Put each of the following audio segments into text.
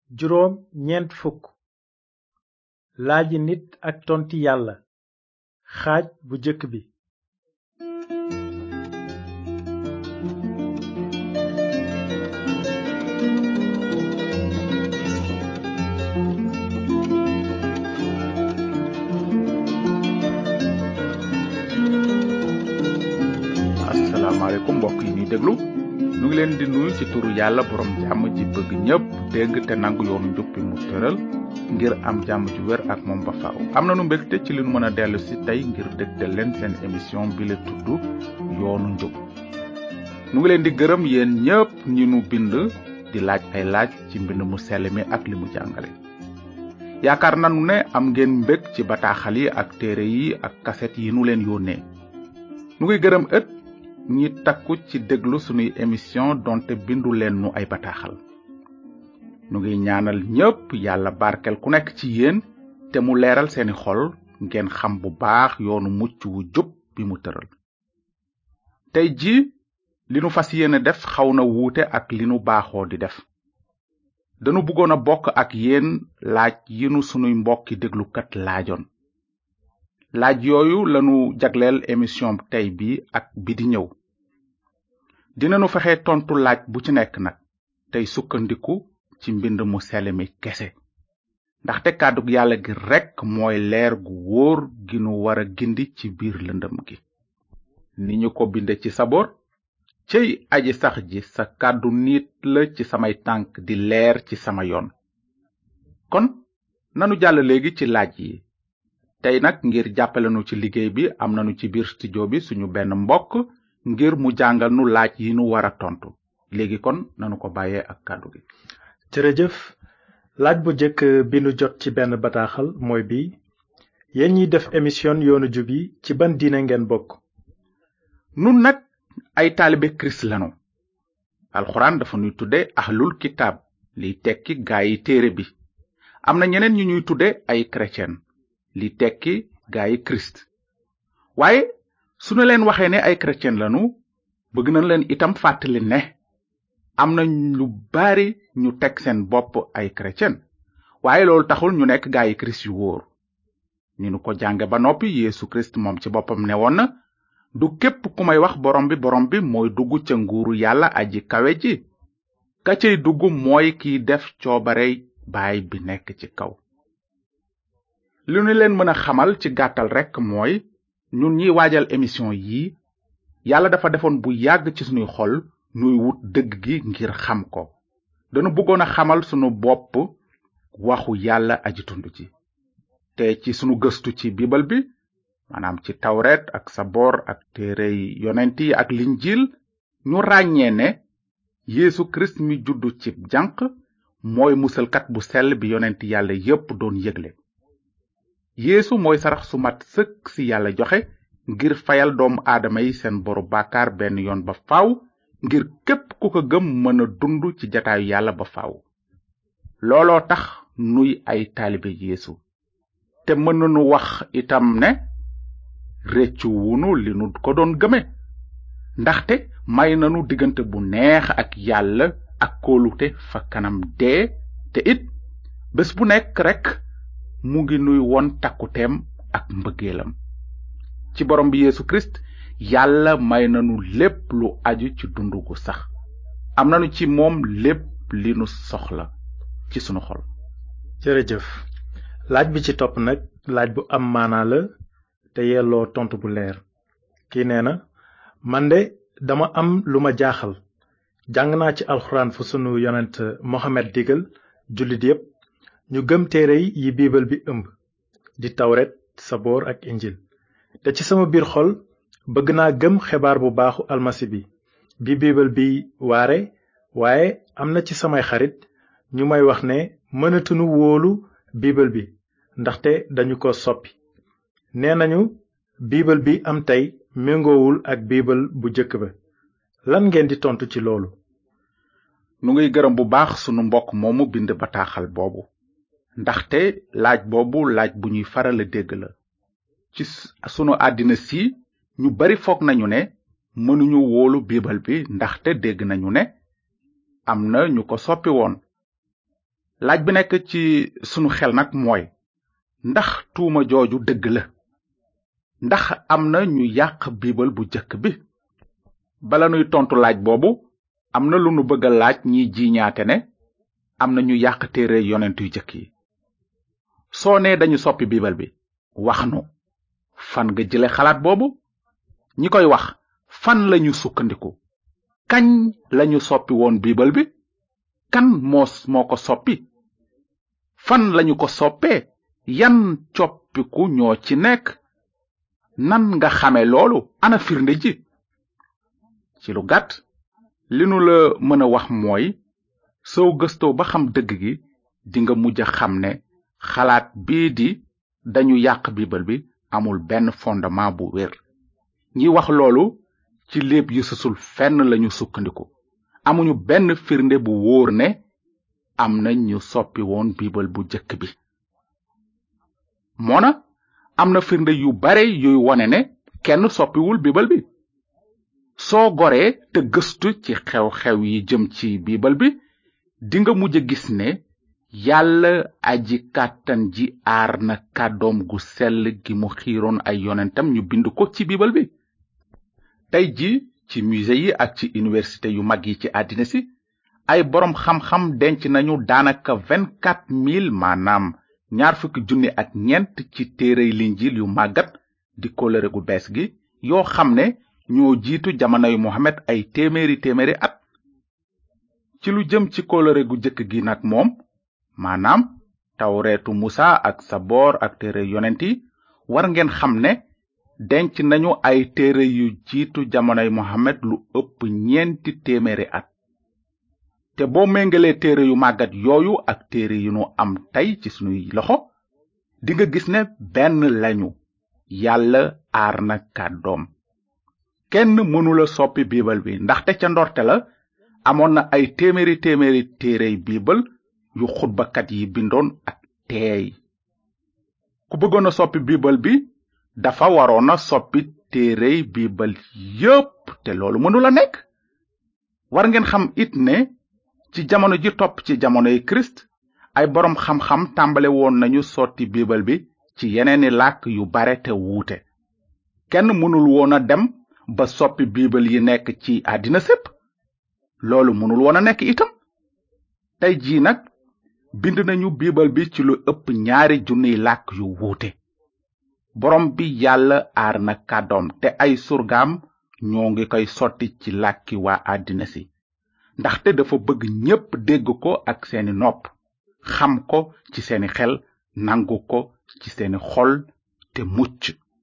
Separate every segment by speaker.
Speaker 1: juróom ñeent fukk laaji nit ak tonti yàlla xaaj bu jëkk bi
Speaker 2: asalaamaaleykum mbokk yi ñuy déglu ñu ngi leen di nuyu ci turu yàlla borom jàmm ji bëgg ñëpp dégg te nangu yoonu njub bi mu tëral ngir am jàmm ju wér ak moom ba faaw. am nañu mbégte ci li nu mën a dellu si tey ngir dégtal leen seen émission bi la tudd yoonu njub. ñu ngi leen di gërëm yéen ñëpp ñi nu bind di laaj ay laaj ci mbind mu sell mi ak li mu jàngale. yaakaar nanu ne am ngeen mbég ci bataaxal yi ak téere yi ak kaset yi nu leen yónnee. ñu ngi gërëm ñi takku ci déglu sunuy émission donte bindu leen nu ay bataaxal. nu ngi ñaanal ñépp yàlla barkel ku nekk ci yéen te mu leeral seeni xol ngeen xam bu baax yoonu mucc wu jub bi mu tëral. tey ji li nu fas yéene def xaw na wuute ak li nu baaxoo di def. danu bëggoon a bokk ak yéen laaj yi nu sunuy mbokki déglukat laajoon. laaj yooyu lanu jagleel émission tey bi ak bi di ñëw. dinanu fexe tontu laaj bu ci nekk nag tey sukkandiku ci mbind mu sell mi kese ndaxte kàddug yàlla gi rekk mooy leer gu wóor gi nu war a gindi ci biir lëndëm gi. ni ñu ko binde ci saboor, cëy aji sax ji sa kàddu niit la ci samay tànk di leer ci sama yoon. kon nanu jàll léegi ci laaj yi. tey nag ngir jàppale nu ci liggéey bi am nanu ci biir studio bi suñu benn mbokk ngir mu jàngal nu laaj yi nu war a tontu. léegi kon nanu ko bàyyee ak kàddu gi.
Speaker 1: jërëjëf. laaj bu jëkk bi nu jot ci benn bataaxal mooy bi yéen ñiy def émission yoonu jub yi ci ban diine ngeen bokk.
Speaker 2: nun nag ay taalibe kirist lanu. alxuraan dafa ñuy tudde ahlul kitaab liy tekki gaayi téere bi. am na ñeneen ñu ñuy tudde ay chrétien li tekki gaayi kirist. waaye sunu leen waxee ne ay chrétien lanu bëgg nañ leen itam fàttali ne am na lu bari ñu teg seen bopp ay chrétien waaye loolu taxul ñu nekk gaayi kirist yu wóor. ni nu ko jànge ba noppi Yeesu Kirist moom ci boppam ne woon na du képp ku may wax borom bi mooy dugg ca nguuru yàlla aji kawe ji. ka cay dugg mooy kiy def coobarey baay bi nekk ci kaw. li nu leen mën a xamal ci gàttal rekk mooy ñun ñiy waajal émission yi yàlla dafa defoon bu yàgg ci sunuy xol nuy wut dëgg gi ngir xam ko. danu bëggoon a xamal sunu bopp waxu yàlla aji tund ji. te ci sunu gëstu ci biibal bi maanaam ci tawret ak saboor ak téerey yonent yi ak linjiil ñu ràññee ne Yeesu Kirist mi juddu ci janq mooy musalkat bu sell bi yonent yàlla yépp doon yëgle. Yeesu mooy sarax su mat sëkk si yàlla joxe ngir fayal doomu aadama yi seen boru bàkkaar benn yoon ba faaw ngir képp ku ko gëm mën a dund ci jataayu yàlla ba faaw. looloo tax nuy ay taalibe Yeesu. te mën nañu wax itam ne réccu wunu li nu ko doon gëme ndaxte may nanu diggante bu neex ak yàlla ak kóolute fa kanam dee te it bés bu nekk rekk mu ngi nuy won takkuteem ak mbëggeelam. ci borom bi Yeesu Kirist yàlla may nanu lépp lu aju ci dundu gu sax. am nanu ci moom lépp li nu soxla ci sunu xol.
Speaker 1: jërëjëf. laaj bi ci topp nag laaj bu am maanaa la te yelloo tontu bu leer. kii nee na man de dama am lu ma jaaxal. jàng naa ci alxuraan fu sunu yonent Mohamed digal jullit yépp ñu gëm téere yi biibal bi ëmb di tawret saboor ak injil. te ci sama biir xol bëgg naa gëm xibaar bu baaxu almasi bi biibal bi waare waaye am na ci samay xarit ñu may wax ne mënatuñu wóolu biibal bi ndaxte dañu ko soppi. nee nañu biibal bi am tey méngoowul ak biibal bu jëkk ba. lan ngeen di tontu ci loolu.
Speaker 2: nu ngiy gërëm bu baax sunu mbokk moomu bind bataaxal boobu ndaxte laaj boobu laaj bu ñuy faral a dégg la. ci sunu àddina si ñu bari foog nañu ne mënuñu wóolu biibal bi ndaxte dégg nañu ne am na ñu ko soppi woon. laaj bi nekk ci sunu xel nag mooy ndax tuuma jooju dëgg la ndax am na ñu yàq biibal bu jëkk bi bala nuy tontu laaj boobu am na lu nu bëgg a laaj ñi jiiñaate ne am na ñu yàq téere yonent yu jëkk yi soo nee dañu soppi biibal bi wax nu fan nga jële xalaat boobu ñi koy wax fan lañu sukkandiku kañ lañu soppi woon biibal bi kan moo ko soppi fan lañu ko soppee yan coppiku ñoo ci nekk nan nga xame loolu ana firnde ji ci lu gàtt li nu la mën a wax mooy soo gëstoo ba xam dëgg gi dinga mujj a xam ne xalaat bii di dañu yàq biibal bi amul benn fondement bu wér ñi wax loolu ci léeb yu sësul fenn lañu sukkandiku amuñu benn firnde bu wóor ne am na ñu soppi woon biibal bu jëkk bi moona am na firnde yu bare yuy wone ne kenn soppiwul biibal bi soo goree te gëstu ci xew-xew yi jëm ci biibal bi dinga mujj gis ne yàlla aji kàttan ji aar na kàddoom gu sell gi mu xiiroon ay yonentam ñu bind ko ci biibal bi tey ji ci musée yi ak ci université yu mag yi ci àddina si ay boroom xam-xam denc nañu daanaka 24,000 maanaam 20,000 ak ñeent ci téerey linjil yu màggat di kóllëre gu bees gi yoo xam ne ñoo jiitu jamonoy Muhammad ay téeméeri at ci lu jëm ci kóllëre gu jëkk gi nag moom maanaam tawreetu Musa ak Saboor ak téere yonent yi war ngeen xam ne denc nañu ay téere yu jiitu jamonoy Muhammad lu ëpp 400 at te boo méngalee téere yu màggat yooyu ak téere yu nu am tey ci sunuy loxo dinga gis ne benn lañu yàlla aar na kàddoom kenn mënula soppi biibal bi ndaxte ca ndorte la amoon na ay téeméeri téerey biibal yu xutbakat yi bindoon ak teey ku bëggoon a soppi biibal bi dafa waroon a soppi téerey biibal yépp te loolu mënula nekk war ngeen xam it ne ci jamono ji topp ci jamonoy Kirist ay boroom xam-xam tàmbale woon nañu sotti biibal bi ci yeneeni làkk yu bare te wuute kenn mënul woon a dem ba soppi biibal yi nekk ci àddina sépp loolu mënul woon a nekk itam tey jii nag bind nañu biibal bi ci lu ëpp 2,000 làkk yu wuute borom bi yàlla aar na kàddoom te ay surgaam ñoo ngi koy sotti ci làkki waa àddina si ndaxte dafa bëgg ñépp dégg ko ak seeni nopp xam ko ci seeni xel nangu ko ci seeni xol te mucc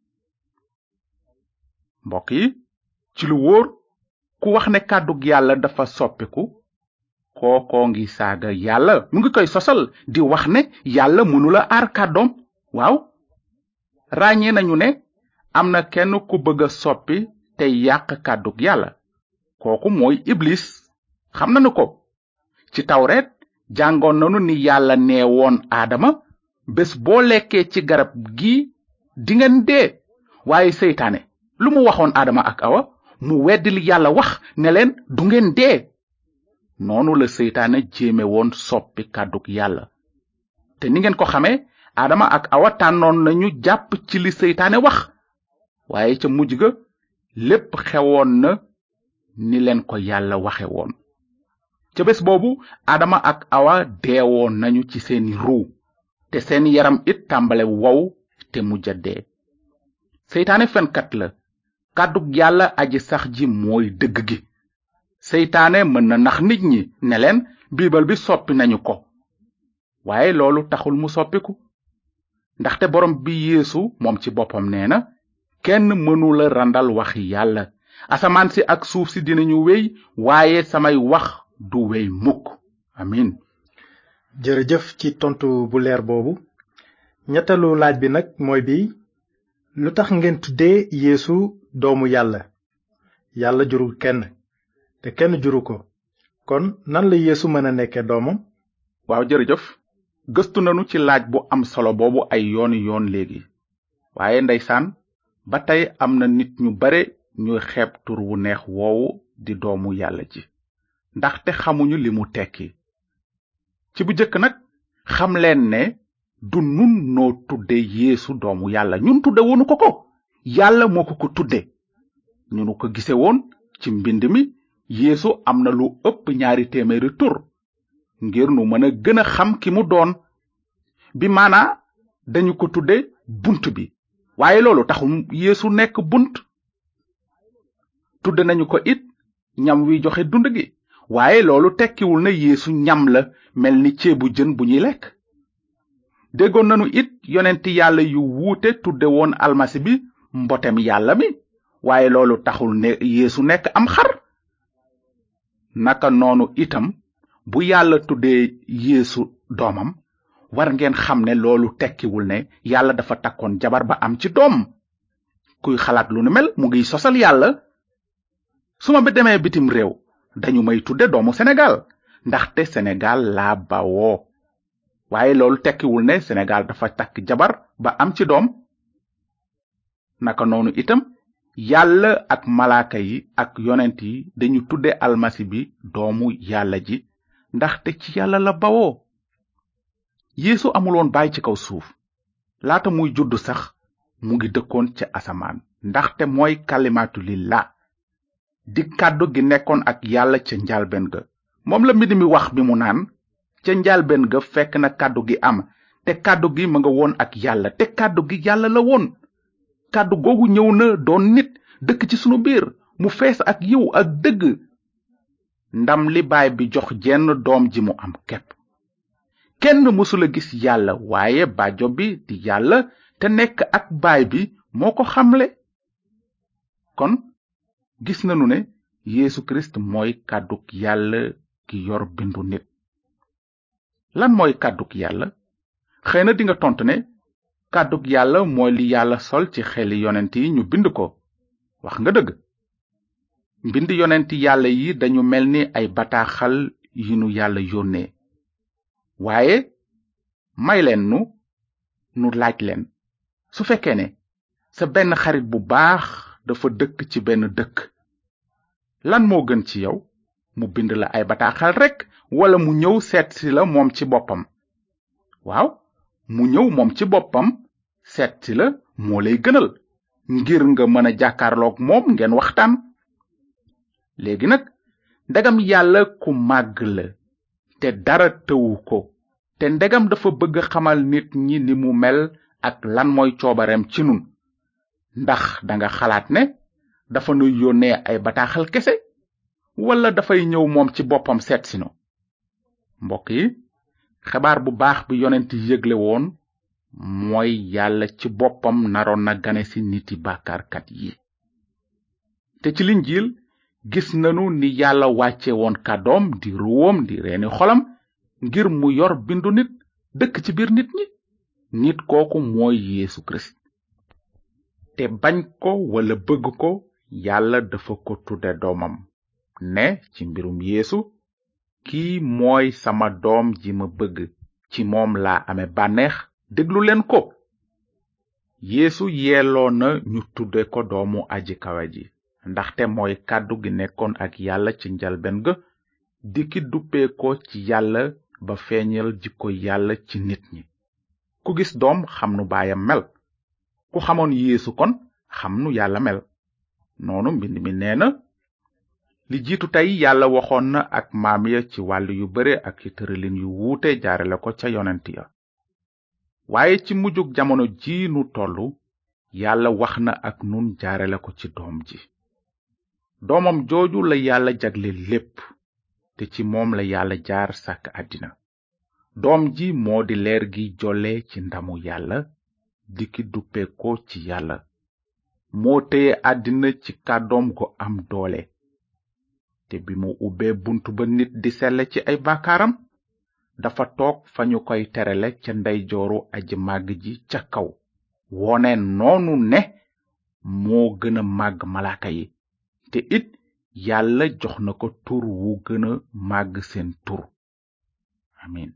Speaker 2: mbokk yi ci lu wóor ku wax ne kàddug yàlla dafa soppiku kookoo ngi saaga yàlla mu ngi koy sosal di wax ne yàlla mënula aar kàddoom waaw ràññee nañu ne am na kenn ku bëgg a soppi te yàq kàddug yàlla kooku mooy iblis xam nañu ko ci tawreet jàngoon nanu ni yàlla nee woon aadama bés boo lekkee ci garab gi dingeen dee waaye seytaane lu mu waxoon aadama ak awa mu weddi li yàlla wax ne leen du ngeen dee noonu la seytaane jéeme woon soppi kàddug yàlla te ni ngeen ko xamee aadama ak awa tànnoon nañu jàpp ci li seytaane wax waaye ca mujj ga lépp xewoon na ni leen ko yàlla waxe woon ca bés boobu aadama ak awa deewoon nañu ci seeni ruu te seeni yaram it tàmbale wow te mujj a dee seytaane fenkat la kàddug yàlla aji sax ji mooy dëgg gi seytaane mën na nax nit ñi ne leen biibal bi soppi nañu ko waaye loolu taxul mu soppiku ndaxte borom bi yeesu moom ci boppam nee na kenn mënula randal waxi yàlla asamaan si ak suuf si dinañu wéy waaye samay wax du wéy mukk amin
Speaker 1: jërëjëf ci tontu bu leer boobu ñetteelu laaj bi nag mooy bi lu tax ngeen tuddee yeesu doomu yàlla yàlla jurul kenn te kenn juru ko kon nan la yeesu mën a nekke doomam
Speaker 2: waaw jërëjëf gëstu nanu ci laaj bu am solo boobu ay yooni yoon léegi waaye ndeysaan ba tey am na nit ñu bare ñuy xeeb tur wu neex woowu di doomu yàlla ji ndaxte xamuñu li mu tekki ci bu jëkk nag xam leen ne du nun noo tudde Yeesu doomu yàlla, ñun tudde woonu ko yàlla moo ko tudde. ñu nu ko gise woon ci mbind mi, Yeesu am na lu ëpp 200 tur ngir nu mën a gën a xam ki mu doon. bi maanaa dañu ko tudde bunt bi, waaye loolu taxul Yeesu nekk bunt. tudde nañu ko it ñam wi joxe dund gi, waaye loolu tekkiwul ne Yeesu ñam la mel ni ceebu jën bu ñuy lekk. déggoon nanu it yonenti yàlla yu wuute tudde woon almasi bi mbotem yàlla mi, waaye loolu taxul ne Yeesu nekk am xar. naka noonu itam bu yàlla tuddee Yeesu doomam, war ngeen xam ne loolu tekkiwul ne yàlla dafa takkoon jabar ba am ci doom. kuy xalaat lu nu mel mu ngiy sosal yàlla. su ma demee bitim réew dañu may tudde doomu Sénégal ndaxte Sénégal laa bawoo, waaye loolu tekkiwul ne Sénégal dafa takk jabar ba am ci doom. naka noonu itam yàlla ak malaaka yi ak yonent yi dañu tudde almasi bi doomu yàlla ji ndaxte ci yàlla la bawoo. Yeesu amuloon baay ci kaw suuf. laata muy judd sax mu ngi dëkkoon ca asamaan, ndaxte mooy kalimatu lillah, di kàddu gi nekkoon ak yàlla ca njaalbeen ga. moom la mbind mi wax bi mu naan, ca njaalbeen ga fekk na kàddu gi am, te kàddu gi ma nga woon ak yàlla, te kàddu gi yàlla la woon. kàddu googu ñëw na doon nit, dëkk ci sunu biir, mu fees ak yiw ak dëgg. ndam li baay bi jox jenn doom ji mu am kepp. kenn mësula gis yàlla, waaye bàjjo bi di yàlla te nekk ak baay bi moo ko xamle. kon gis nanu ne Yeesu Kirist mooy kàdduk yàlla ki yor bindu nit. lan mooy kàdduk yàlla? xëy na dinga tontu ne kàdduk yàlla mooy li yàlla sol ci xeli yonent yi ñu bind ko. wax nga dëgg. mbind yonent yàlla yi dañu mel ni ay bataaxal yi nu yàlla yónnee. waaye may leen nu laaj leen, su fekkee ne sa benn xarit bu baax dafa dëkk ci benn dëkk, lan moo gën ci yow? mu bind la ay bataaxal rekk wala mu ñëw seet si la moom ci boppam? waaw, mu ñëw moom ci boppam seet si la moo lay gënal, ngir nga mën a jàkkaarloog moom ngeen waxtaan. léegi nag ndegam yàlla ku màgg la te dara tëwu ko, te ndegam dafa bëgg xamal nit ñi ni mu mel ak lan mooy coobareem ci nun, ndax danga xalaat ne dafa nu yónnee ay bataaxal kese wala dafay ñëw moom ci boppam seet si nu? mbokk yi, xabaar bu baax bi yonent yëgle woon mooy yàlla ci boppam naroon na gane si niti bàkkaarkat yi. te ci linjiil gis nanu ni yàlla wàcce woon kàddoom di ruwam di reeni xolam ngir mu yor bindu nit, dëkk ci biir nit ñi. nit kooku mooy Yeesu Kirist. te bañ ko wala bëgg ko, yàlla dafa ko tudde doomam, ne ci mbirum Yeesu, kii mooy sama doom ji ma bëgg, ci moom laa ame bànneex, déglu leen ko. Yeesu yelloo na ñu tudde ko doomu aji kawe ji, ndaxte mooy kàddu gi nekkoon ak yàlla ci njalbeen ga, di ki duppee ko ci yàlla ba feeñal jikko yàlla ci nit ñi. ku gis doom xam nu baayam mel. ku xamoon Yeesu kon xam nu yàlla mel. noonu mbind mi nee na, li jiitu tey yàlla waxoon na ak maam ya ci wàll yu bare ak ci tëralin yu wuute jaarale ko ca yonent ya. waaye ci mujjug jamono ji nu tollu, yàlla wax na ak nun jaarale ko ci doom ji. doomam jooju la yàlla jagle lépp, te ci moom la yàlla jaar sàkk àddina. doom ji moo di leer gi jolle ci ndamu yàlla, di ki duppe ko ci yàlla. moo téye àddina ci kàddoom gu am doole. te bi mu ubbee buntu ba nit di selle ci ay bàkkaaram, dafa toog fa ñu koy terale ca ndeyjooru aji màgg ji ca kaw, wone noonu ne moo gën a màgg malaaka yi, te it yàlla jox na ko tur wu gën a màgg seen tur. amin.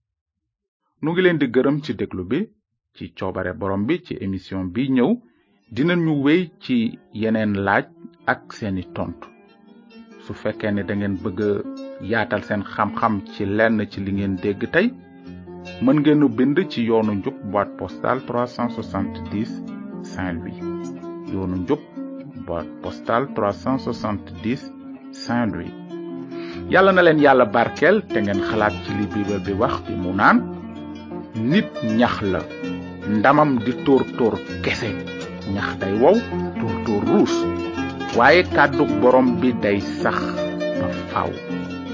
Speaker 2: nu ngi leen di gërëm ci déglu bi. ci coobare borom bi, ci émission bi ñëw dinañu wéy ci yeneen laaj ak seeni tontu. su fekkee ne da ngeen bëgg yaatal seen xam-xam ci lenn ci li ngeen dégg tey, mën ngeen a bind ci yoonu njub boîte postale 370 Saint-Louis. yoonu njub boîte postale 370 Saint-Louis. yàlla na leen yàlla barkeel te ngeen xalaat ci li Bible bi wax bi mu naan nit ñax la ndamam di tóor kese, ñax day wow tóor ruus, waaye kàddug borom bi day sax ba faaw.